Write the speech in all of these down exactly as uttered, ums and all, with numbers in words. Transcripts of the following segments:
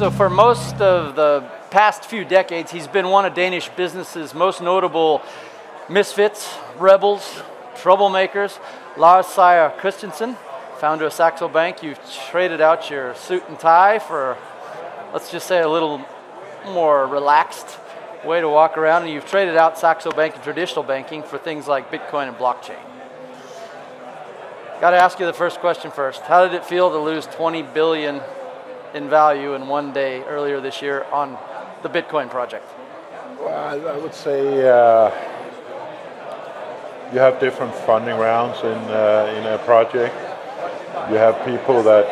So for most of the past few decades, he's been one of Danish business's most notable misfits, rebels, troublemakers. Lars Seier Christensen, founder of Saxo Bank. You've traded out your suit and tie for, let's just say, a little more relaxed way to walk around, and you've traded out Saxo Bank and traditional banking for things like Bitcoin and blockchain. Got to ask you the first question first. How did it feel to lose twenty billion dollars in value in one day earlier this year on the Bitcoin project? Well, I, I would say uh, you have different funding rounds in uh, in a project. You have people that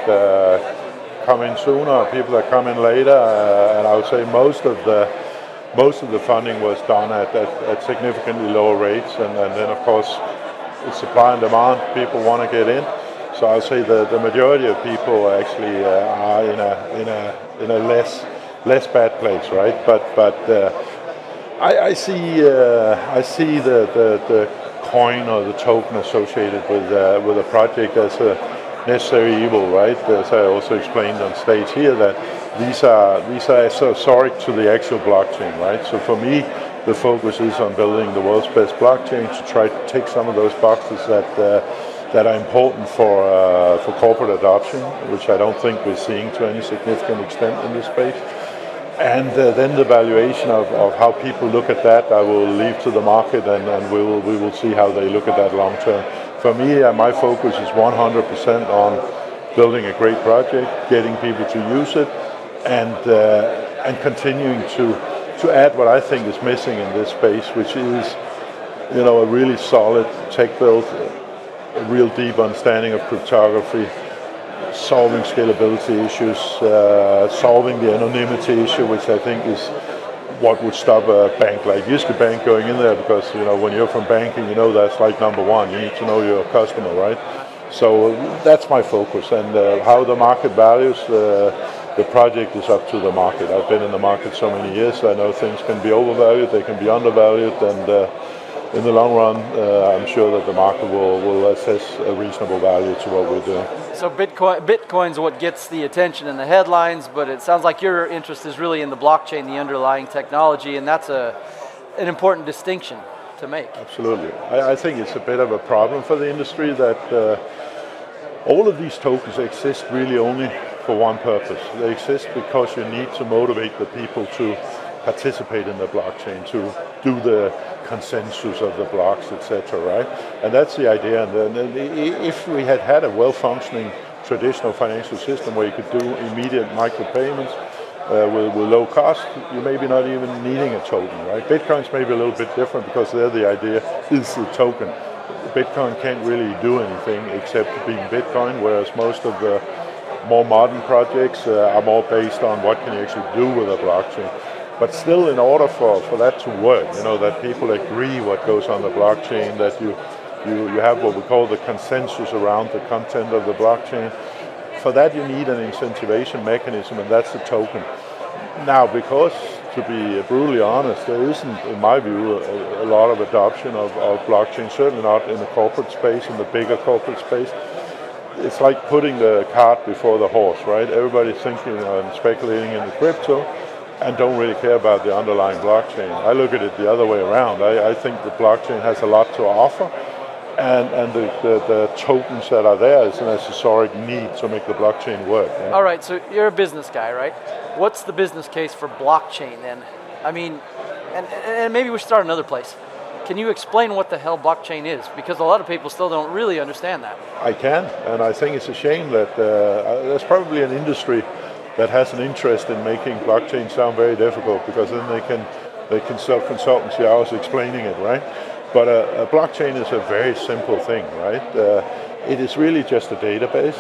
uh, come in sooner, people that come in later, uh, and I would say most of the most of the funding was done at, at, at significantly lower rates, and, and then of course it's supply and demand. People want to get in, so I would say the, the majority of people actually uh, are in a in a in a less less bad place, right? But but uh, I, I see uh, I see the, the, the coin or the token associated with uh, with a project as a necessary evil, right? As I also explained on stage here, that these are these are accessoric to the actual blockchain, right? So for me, the focus is on building the world's best blockchain to try to tick some of those boxes that uh, that are important for uh, for corporate adoption, which I don't think we're seeing to any significant extent in this space. And uh, then the valuation of, of how people look at that, I will leave to the market, and, and we will we will see how they look at that long term. For me, uh, my focus is one hundred percent on building a great project, getting people to use it, and uh, and continuing to to add what I think is missing in this space, which is, you know, a really solid tech build, a real deep understanding of cryptography, solving scalability issues, uh, solving the anonymity issue, which I think is what would stop a bank like Jyske Bank going in there, because, you know, when you're from banking, you know that's like number one. You need to know your customer, right? So that's my focus, and uh, how the market values uh, the project is up to the market. I've been in the market so many years, I know things can be overvalued, they can be undervalued, and uh, in the long run, uh, I'm sure that the market will, will assess a reasonable value to what we're doing. So Bitcoin, Bitcoin's what gets the attention in the headlines, but it sounds like your interest is really in the blockchain, the underlying technology, and that's a an important distinction to make. Absolutely. I, I think it's a bit of a problem for the industry that uh, all of these tokens exist really only for one purpose. They exist because you need to motivate the people to participate in the blockchain, to do the consensus of the blocks, et cetera, right? And that's the idea. And then if we had had a well-functioning traditional financial system where you could do immediate micropayments uh, with, with low cost, you maybe not even needing a token, right? Bitcoin's maybe a little bit different because there the idea is the token. Bitcoin can't really do anything except being Bitcoin, whereas most of the more modern projects uh, are more based on what can you actually do with a blockchain. But still, in order for, for that to work, you know, that people agree what goes on the blockchain, that you, you, you have what we call the consensus around the content of the blockchain, for that you need an incentivation mechanism, and that's the token. Now, because, to be brutally honest, there isn't, in my view, a, a lot of adoption of, of blockchain, certainly not in the corporate space, in the bigger corporate space. It's like putting the cart before the horse, right? Everybody's thinking and speculating in the crypto, and don't really care about the underlying blockchain. I look at it the other way around. I, I think the blockchain has a lot to offer, and, and the, the, the tokens that are there is an accessoric need to make the blockchain work. Yeah? All right, so you're a business guy, right? What's the business case for blockchain then? I mean, and, and maybe we should start another place. Can you explain what the hell blockchain is? Because a lot of people still don't really understand that. I can, and I think it's a shame that uh, there's probably an industry that has an interest in making blockchain sound very difficult, because then they can they can sell consultancy hours explaining it, right? But a, a blockchain is a very simple thing, right? Uh, it is really just a database,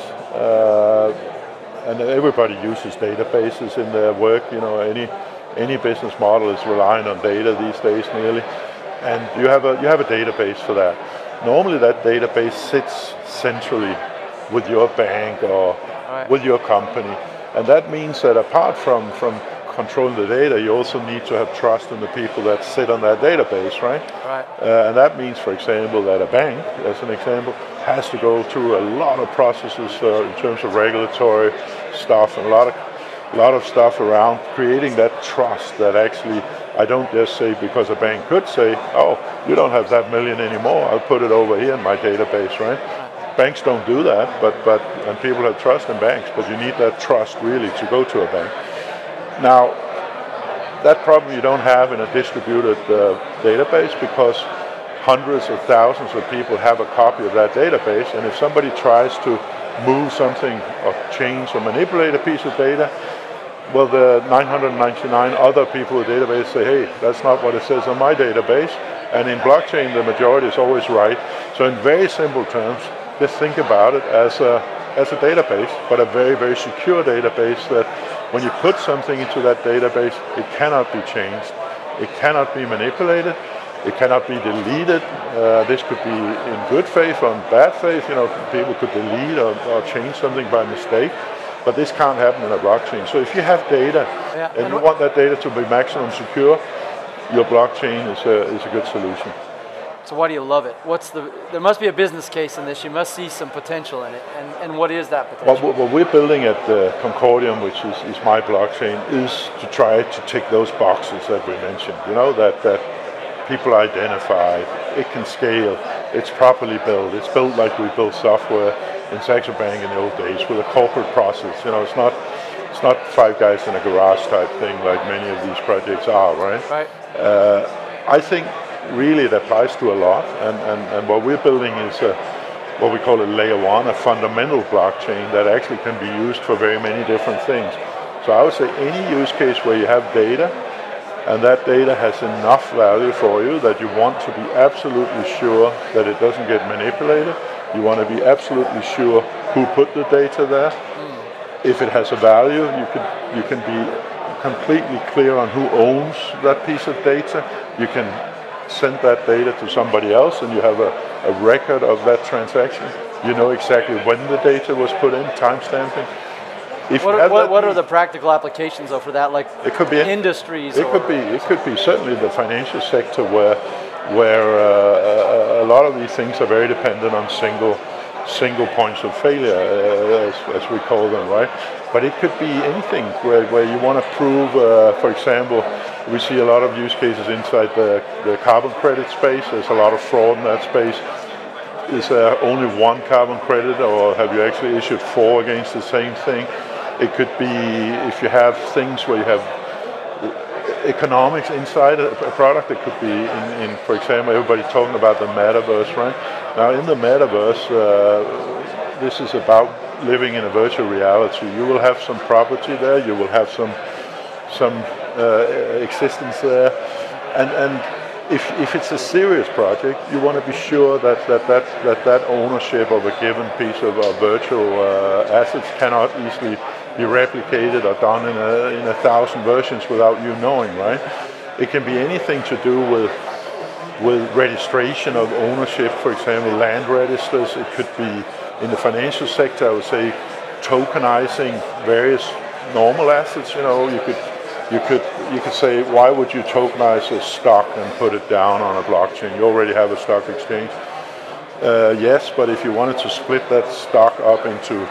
uh, and everybody uses databases in their work. You know, any any business model is relying on data these days, nearly, and you have a you have a database for that. Normally, that database sits centrally with your bank or right. with your company. And that means that apart from, from controlling the data, you also need to have trust in the people that sit on that database, right? Right. Uh, and that means, for example, that a bank, as an example, has to go through a lot of processes uh, in terms of regulatory stuff and a lot of a lot of stuff around creating that trust that actually I don't just say, because a bank could say, oh, you don't have that million anymore, I'll put it over here in my database, right? Banks don't do that, but, but and people have trust in banks, but you need that trust really to go to a bank. Now, that problem you don't have in a distributed uh, database, because hundreds of thousands of people have a copy of that database, and if somebody tries to move something or change or manipulate a piece of data, well, the nine hundred ninety-nine other people in the database say, hey, that's not what it says on my database. And in blockchain, the majority is always right. So in very simple terms, just think about it as a, as a database, but a very, very secure database that when you put something into that database, it cannot be changed. It cannot be manipulated. It cannot be deleted. Uh, this could be in good faith or in bad faith. You know, people could delete or, or change something by mistake, but this can't happen in a blockchain. So if you have data yeah. and, and you want that data to be maximum secure, your blockchain is a, is a good solution. So why do you love it? What's the? There must be a business case in this. You must see some potential in it. And, and what is that potential? What, what we're building at the Concordium, which is, is my blockchain, is to try to tick those boxes that we mentioned. You know, that, that people identify, it can scale, it's properly built. It's built like we built software in Saxo Bank in the old days with a corporate process. You know, it's not it's not five guys in a garage type thing like many of these projects are, right? Right. Uh, I think really it applies to a lot, and, and, and what we're building is a, what we call a layer one, a fundamental blockchain that actually can be used for very many different things. So I would say any use case where you have data, and that data has enough value for you that you want to be absolutely sure that it doesn't get manipulated. You want to be absolutely sure who put the data there. Mm. If it has a value, you can you can be completely clear on who owns that piece of data. You can send that data to somebody else, and you have a, a record of that transaction. You know exactly when the data was put in, timestamping. If what, are, what, what are the practical applications though for that? Like it could be industries. It or? could be. It could be certainly the financial sector where where uh, a lot of these things are very dependent on single single points of failure, uh, as, as we call them, right? But it could be anything where, where you want to prove, uh, for example, we see a lot of use cases inside the, the carbon credit space. There's a lot of fraud in that space. Is there only one carbon credit, or have you actually issued four against the same thing? It could be if you have things where you have economics inside a, a product. It could be, in, in, for example, everybody's talking about the metaverse, right? Now, in the metaverse, uh, this is about living in a virtual reality. You will have some property there. You will have some some uh, existence there, and and. If, if it's a serious project, you want to be sure that that, that, that, that ownership of a given piece of uh, virtual uh, assets cannot easily be replicated or done in a, in a thousand versions without you knowing, right? It can be anything to do with with registration of ownership, for example, land registers. It could be in the financial sector, I would say, tokenizing various normal assets. You know, you could You could you could say, why would you tokenize a stock and put it down on a blockchain? You already have a stock exchange. Uh, yes, but if you wanted to split that stock up into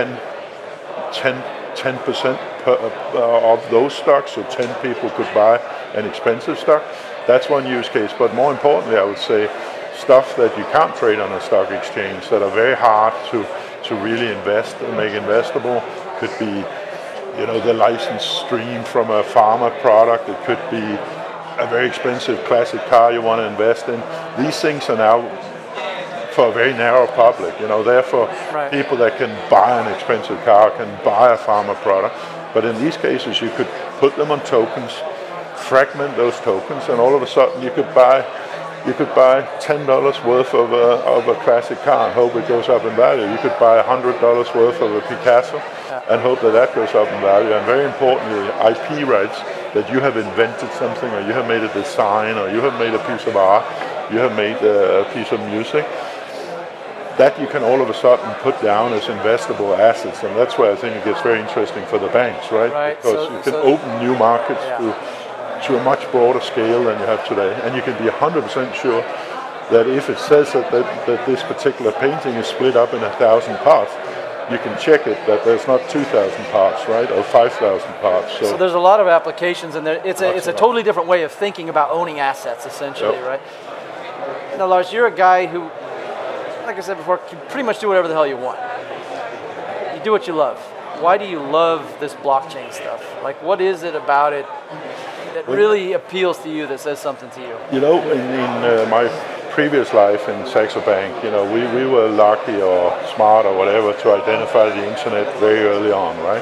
ten percent per, uh, of those stocks, so ten people could buy an expensive stock, that's one use case. But more importantly, I would say stuff that you can't trade on a stock exchange, that are very hard to, to really invest and make investable, could be, you know, the license stream from a pharma product. It could be a very expensive classic car you want to invest in. These things are now for a very narrow public. You know, therefore, right. People that can buy an expensive car can buy a pharma product. But in these cases, you could put them on tokens, fragment those tokens, and all of a sudden you could buy you could buy ten dollars worth of a, of a classic car and hope it goes up in value. You could buy one hundred dollars worth of a Picasso and hope that that goes up in value. And very importantly, I P rights, that you have invented something, or you have made a design, or you have made a piece of art, you have made a piece of music, that you can all of a sudden put down as investable assets. And that's where I think it gets very interesting for the banks, right? right. Because so, you can so open new markets yeah. to to a much broader scale than you have today. And you can be one hundred percent sure that if it says that, that, that this particular painting is split up in a thousand parts, you can check it that there's not two thousand parts, right, or five thousand parts. So, so there's a lot of applications, and there, it's a it's a totally different way of thinking about owning assets, essentially, yep. right? Now, Lars, you're a guy who, like I said before, can pretty much do whatever the hell you want. You do what you love. Why do you love this blockchain stuff? Like, what is it about it that really appeals to you, that says something to you? You know, in, in uh, my previous life in Saxo Bank, you know, we, we were lucky or smart or whatever to identify the internet very early on, right?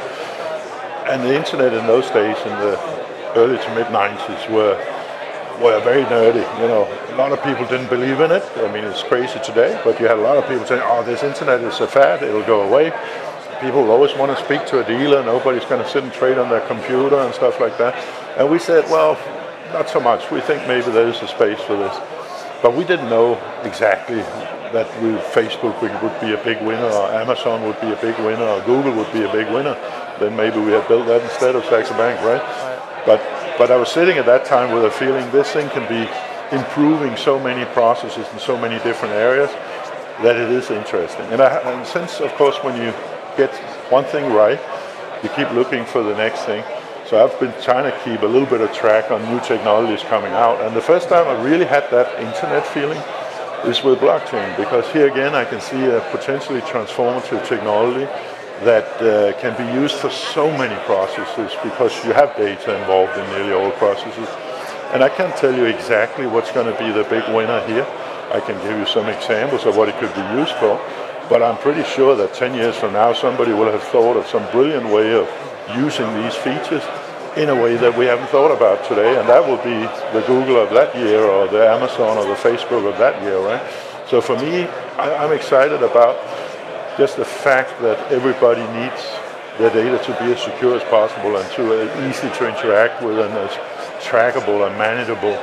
And the internet in those days, in the early to mid nineties, were were very nerdy. You know, a lot of people didn't believe in it. I mean, it's crazy today, but you had a lot of people saying, "Oh, this internet is a fad; it'll go away." People always want to speak to a dealer. Nobody's going to sit and trade on their computer and stuff like that. And we said, well, not so much. We think maybe there is a space for this. But we didn't know exactly that we, Facebook would be a big winner, or Amazon would be a big winner, or Google would be a big winner. Then maybe we had built that instead of Saxo Bank, right? right. But but I was sitting at that time with a feeling this thing can be improving so many processes in so many different areas that it is interesting. And, I, and since, of course, when you get one thing right, you keep looking for the next thing. So I've been trying to keep a little bit of track on new technologies coming out. And the first time I really had that internet feeling is with blockchain, because here again I can see a potentially transformative technology that uh, can be used for so many processes, because you have data involved in nearly all processes. And I can't tell you exactly what's going to be the big winner here. I can give you some examples of what it could be used for, but I'm pretty sure that ten years from now somebody will have thought of some brilliant way of using these features in a way that we haven't thought about today, and that will be the Google of that year, or the Amazon or the Facebook of that year, right? So for me, I, I'm excited about just the fact that everybody needs their data to be as secure as possible and to uh, easy to interact with and as trackable and manageable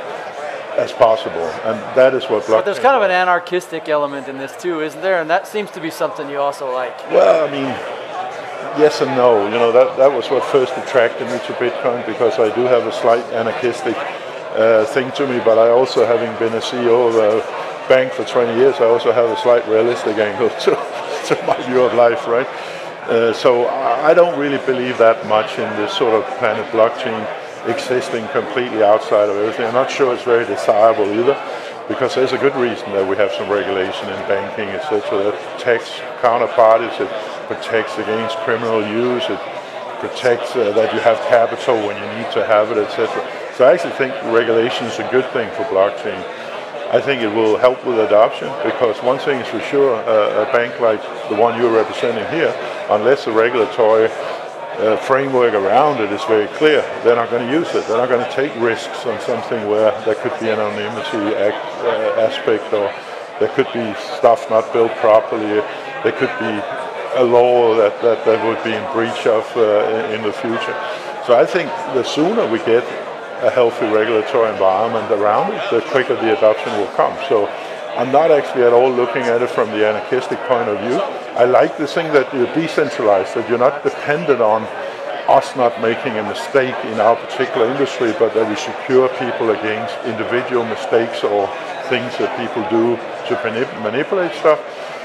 as possible, and that is what blockchain. But there's kind of an anarchistic element in this too, isn't there? And that seems to be something you also like. Well, I mean, yes and no. You know, that, that was what first attracted me to Bitcoin, because I do have a slight anarchistic uh, thing to me, but I also, having been a C E O of a bank for twenty years, I also have a slight realistic angle to, to my view of life, right? Uh, so I don't really believe that much in this sort of planet blockchain existing completely outside of everything. I'm not sure it's very desirable either, because there's a good reason that we have some regulation in banking, et cetera, that protects counterparties, it protects against criminal use, it protects uh, that you have capital when you need to have it, et cetera. So I actually think regulation is a good thing for blockchain. I think it will help with adoption, because one thing is for sure, uh, a bank like the one you're representing here, unless the regulatory Uh, framework around it is very clear, they're not going to use it. They're not going to take risks on something where there could be an anonymity act, uh, aspect, or there could be stuff not built properly. There could be a law that, that, that would be in breach of uh, in, in the future. So I think the sooner we get a healthy regulatory environment around it, the quicker the adoption will come. So I'm not actually at all looking at it from the anarchistic point of view. I like the thing that you're decentralized, that you're not dependent on us not making a mistake in our particular industry, but that we secure people against individual mistakes or things that people do to manip- manipulate stuff.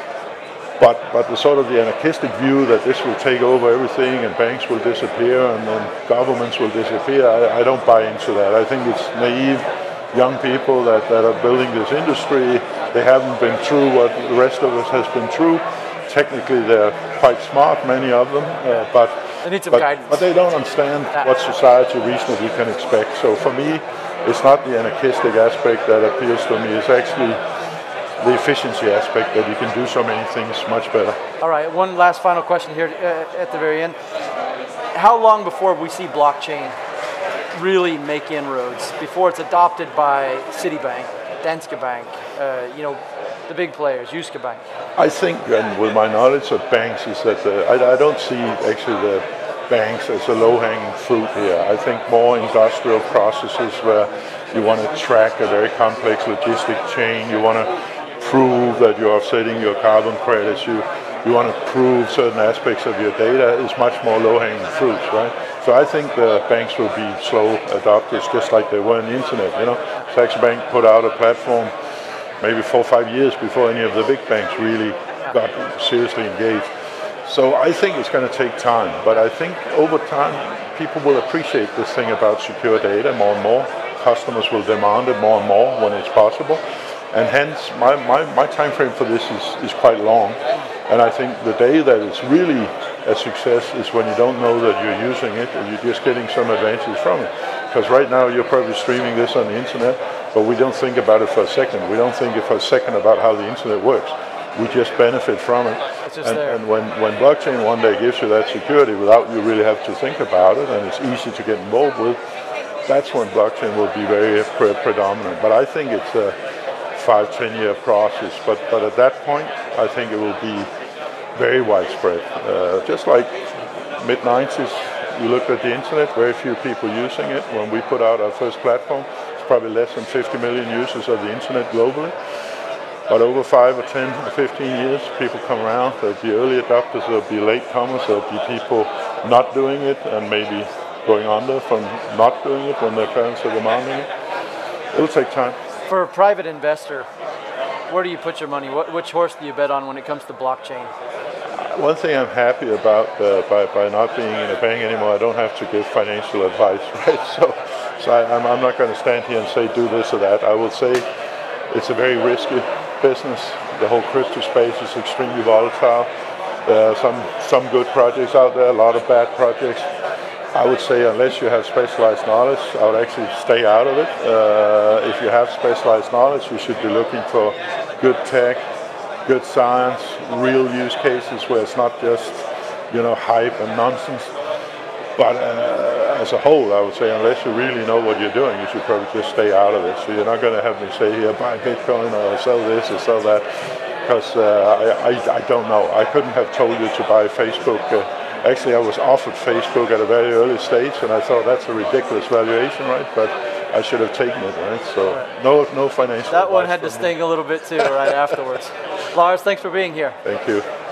But but the sort of the anarchistic view that this will take over everything and banks will disappear and then governments will disappear, I, I don't buy into that. I think it's naive young people that, that are building this industry. They haven't been through what the rest of us has been through. Technically, they're quite smart, many of them, uh, but, they need some but, guidance. but they don't understand what society reasonably can expect. So for me, it's not the anarchistic aspect that appeals to me. It's actually the efficiency aspect, that you can do so many things much better. All right, one last final question here uh, at the very end. How long before we see blockchain really make inroads, before it's adopted by Citibank, Danske Bank, uh, you know, the big players, Jyske Bank? I think, and with my knowledge of banks, is that the, I, I don't see actually the banks as a low-hanging fruit here. I think more industrial processes where you want to track a very complex logistic chain, you want to prove that you're offsetting your carbon credits, you you want to prove certain aspects of your data, is much more low-hanging fruits, right? So I think the banks will be slow adopters, just like they were in the internet. You know, Saxo Bank put out a platform maybe four or five years before any of the big banks really got seriously engaged. So I think it's going to take time, but I think over time people will appreciate this thing about secure data more and more. Customers will demand it more and more when it's possible, and hence my, my, my time frame for this is, is quite long. And I think the day that it's really a success is when you don't know that you're using it and you're just getting some advantage from it. Because right now you're probably streaming this on the internet, but we don't think about it for a second. We don't think for a second about how the internet works. We just benefit from it. It's just and there. and when, when blockchain one day gives you that security without you really have to think about it, and it's easy to get involved with, that's when blockchain will be very pre- predominant. But I think it's a five, ten year process. But, but at that point, I think it will be very widespread. Uh, just like mid nineties, you looked at the internet, very few people using it. When we put out our first platform, it's probably less than fifty million users of the internet globally. But over five or ten or fifteen years, people come around. There'll be early adopters, there'll be late comers, there'll be people not doing it and maybe going under from not doing it when their parents are demanding it. It'll take time. For a private investor, where do you put your money? What, which horse do you bet on when it comes to blockchain? One thing I'm happy about uh, by, by not being in a bank anymore, I don't have to give financial advice, right? So, so I, I'm, I'm not going to stand here and say do this or that. I will say it's a very risky business. The whole crypto space is extremely volatile. There are some, some good projects out there, a lot of bad projects. I would say unless you have specialized knowledge, I would actually stay out of it. Uh, if you have specialized knowledge, you should be looking for good tech, good science, real use cases where it's not just, you know, hype and nonsense. But uh, as a whole, I would say unless you really know what you're doing, you should probably just stay out of it. So you're not going to have me say here, buy Bitcoin or sell this or sell that, because uh, I, I, I don't know. I couldn't have told you to buy Facebook. Uh, actually, I was offered Facebook at a very early stage, and I thought that's a ridiculous valuation, right? But I should have taken it, right? So no, no financial. That one had to sting a little bit too, right afterwards. Lars, thanks for being here. Thank you.